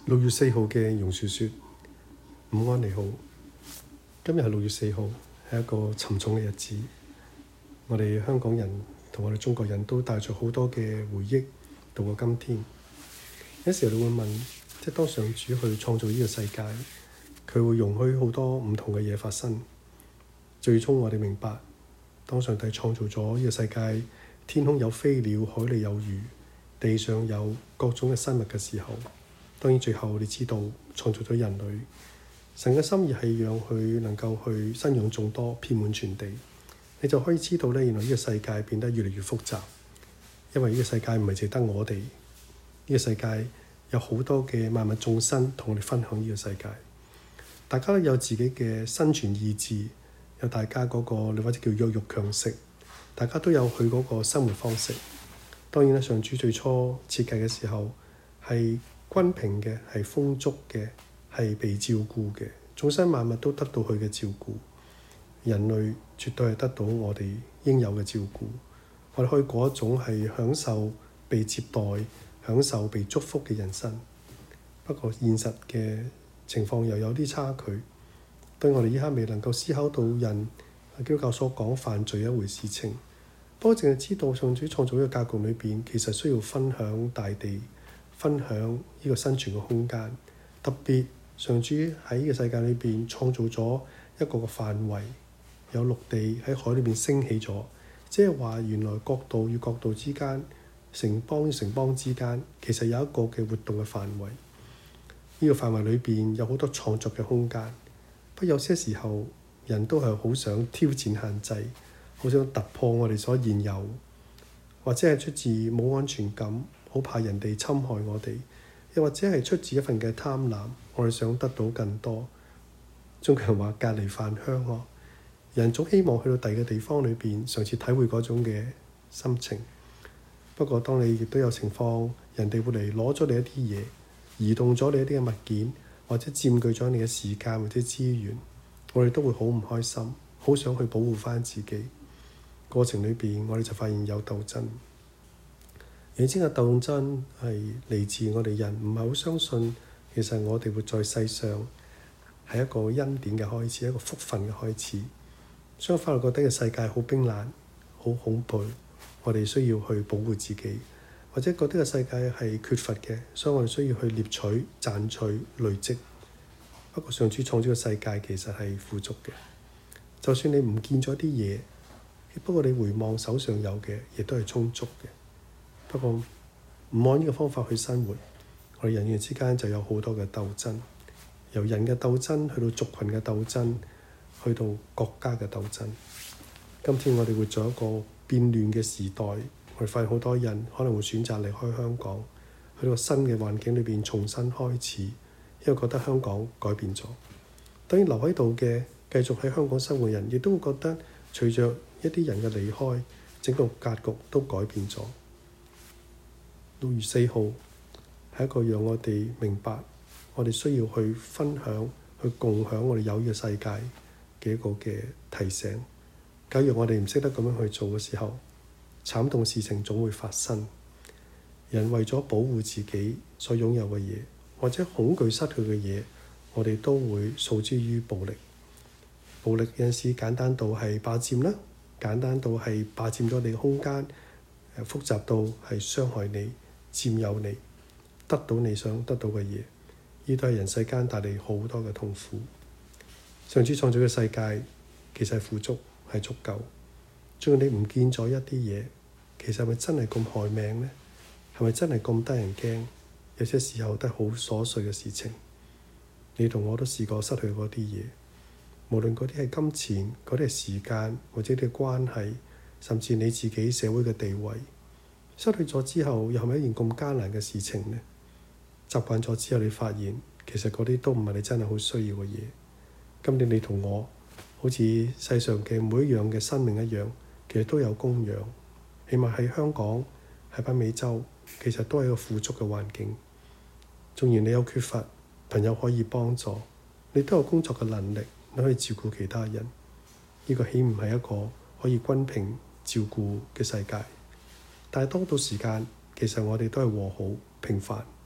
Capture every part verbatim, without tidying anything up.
六月四號嘅榕樹說：午安你好，今日係六月四號，係一個沉重嘅日子。我哋香港人同我哋中國人都帶咗好多嘅回憶度過今天。有時候你會問，即係當上主去創造呢個世界，佢會容許好多唔同嘅嘢發生。最終我哋明白，當上帝創造咗呢個世界，天空有飛鳥，海裡有魚，地上有各種嘅生物嘅時候，當然最後你知道創造咗人類，神嘅心意係讓佢能夠去生養眾多，遍滿全地。你就可以知道咧，原來呢個世界變得越嚟越複雜，因為呢個世界唔係淨得我哋，呢個世界有好多嘅萬物眾生同我哋分享呢個世界。大家都有自己嘅生存意志，有大家嗰個你或者叫弱肉強食，大家都有佢嗰個生活方式。當然啦，上主最初設計嘅時候係均平嘅，係豐足嘅，係被照顧嘅，眾生萬物都得到佢嘅照顧。人類絕對係得到我哋應有嘅照顧，我哋可以過一種係享受被接待、享受被祝福嘅人生。不過現實嘅情況又有啲差距，對我哋依家未能夠思考到人基督教所講犯罪一回事情。不過淨係知道上主創造呢個格局裏邊，其實需要分享大地。分享呢個生存嘅空間，特別上主喺呢個世界裏邊創造咗一個個範圍，有陸地喺海裏邊升起咗，即係話原來國度與國度之間、城邦與城邦之間，其實有一個嘅活動嘅範圍。呢個範圍裏邊有好多創作嘅空間，不過有些時候人都係好想挑戰限制，好想突破我哋所現有，或者係出自冇安全感。好怕人哋侵害我哋，又或者係出自一份嘅貪婪，我哋想得到更多。中國人話隔離飯香咯，人總希望去到第二個地方裏邊，嘗試體會嗰種嘅心情。不過當你亦都有情況，人哋會嚟攞咗你一啲嘢，移動咗你一啲嘅物件，或者佔據咗你嘅時間或者資源，我哋都會好唔開心，好想去保護返自己。過程裏邊，我哋就發現有鬥爭。你知嘅鬥爭係嚟自我哋人唔係好相信，其實我哋活在世上係一個恩典嘅開始，一個福分嘅開始。相反，我覺得嘅世界好冰冷、好恐怖，我哋需要去保護自己，或者覺得個世界係缺乏嘅，所以我哋需要去獵取、賺取、累積。不過上主創造嘅世界其實係富足嘅，就算你唔見咗啲嘢，不過你回望手上有嘅，亦都係充足嘅。不過唔按呢個方法去生活，我哋人與人之間就有好多嘅鬥爭，由人嘅鬥爭去到族群嘅鬥爭，去到國家嘅鬥爭。今天我哋活在一個變亂嘅時代，我哋發現好多人可能會選擇離開香港，去到新嘅環境裏邊重新開始，因為覺得香港改變咗。當然留喺度嘅繼續喺香港生活嘅人，亦都會覺得隨着一啲人嘅離開，整個格局都改變咗。六月四號係一個讓我哋明白，我哋需要去分享、去共享我哋有呢個世界嘅一個嘅提醒。假如我哋唔識得咁樣去做嘅時候，慘痛事情總會發生。人為咗保護自己所擁有嘅嘢，或者恐懼失去嘅嘢，我哋都會訴之於暴力。暴力有陣時簡單到係霸佔啦，簡單到係霸佔咗你嘅空間，複雜到係傷害你。佔有你，得到你想得到嘅嘢，呢都係人世間帶嚟好多嘅痛苦。上主創造嘅世界其實係富足，係足夠。只要你唔見咗一啲嘢，其實係咪真係咁害命呢？係咪真係咁得人驚？有些時候都係好瑣碎嘅事情。你同我都試過失去嗰啲嘢，無論嗰啲係金錢、嗰啲係時間，或者啲關係，甚至你自己社會嘅地位。失去咗之後，又係咪一件咁艱難嘅事情呢？習慣咗之後，你發現其實嗰啲都唔係你真係好需要嘅嘢。今年你同我好似世上嘅每一樣嘅生命一樣，其實都有供養。起碼喺香港、喺北美洲，其實都係一個富足嘅環境。縱然你有缺乏，朋友可以幫助，你都有工作嘅能力，你可以照顧其他人。呢個豈唔係一個可以均平照顧嘅世界？但係多到時間，其實我哋都係和好平凡，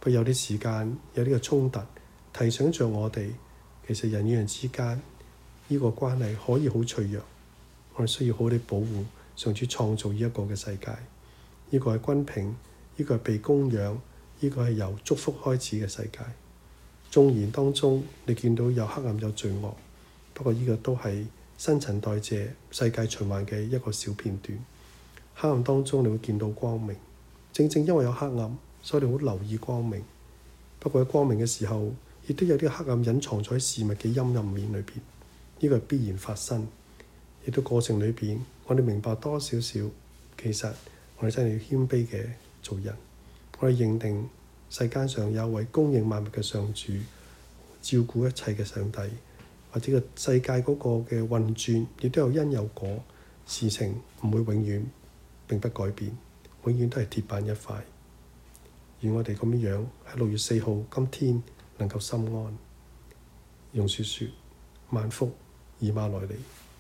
不過有啲時間有呢個衝突，提醒着我哋，其實人與人之間呢個關係可以好脆弱，我哋需要好啲保護上主創造呢一個嘅世界。呢個係均平，呢個係被供養，呢個係由祝福開始嘅世界。縱然當中你見到有黑暗有罪惡，不過呢個都係新陳代謝世界循環嘅一個小片段。黑暗當中你會見到光明，正正因為有黑暗，所以你好留意光明。不過喺光明嘅時候，亦都有啲黑暗隱藏在事物嘅陰暗面裏邊，呢個係必然發生。亦都過程裏邊，我哋明白多少少，其實我哋真係要謙卑嘅做人。我哋認定世間上有位供應萬物嘅上主，照顧一切嘅上帝，或者個世界嗰個嘅運轉，亦都有因有果，事情唔會永遠並不改變，永遠都係鐵板一塊。而我哋咁樣喺六月四號今天能夠心安。用説説萬福以馬內利。